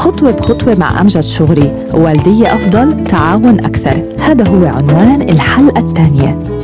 خطوة بخطوة مع أمجد شغري، والدية أفضل، تعاون أكثر. هذا هو عنوان الحلقة الثانية.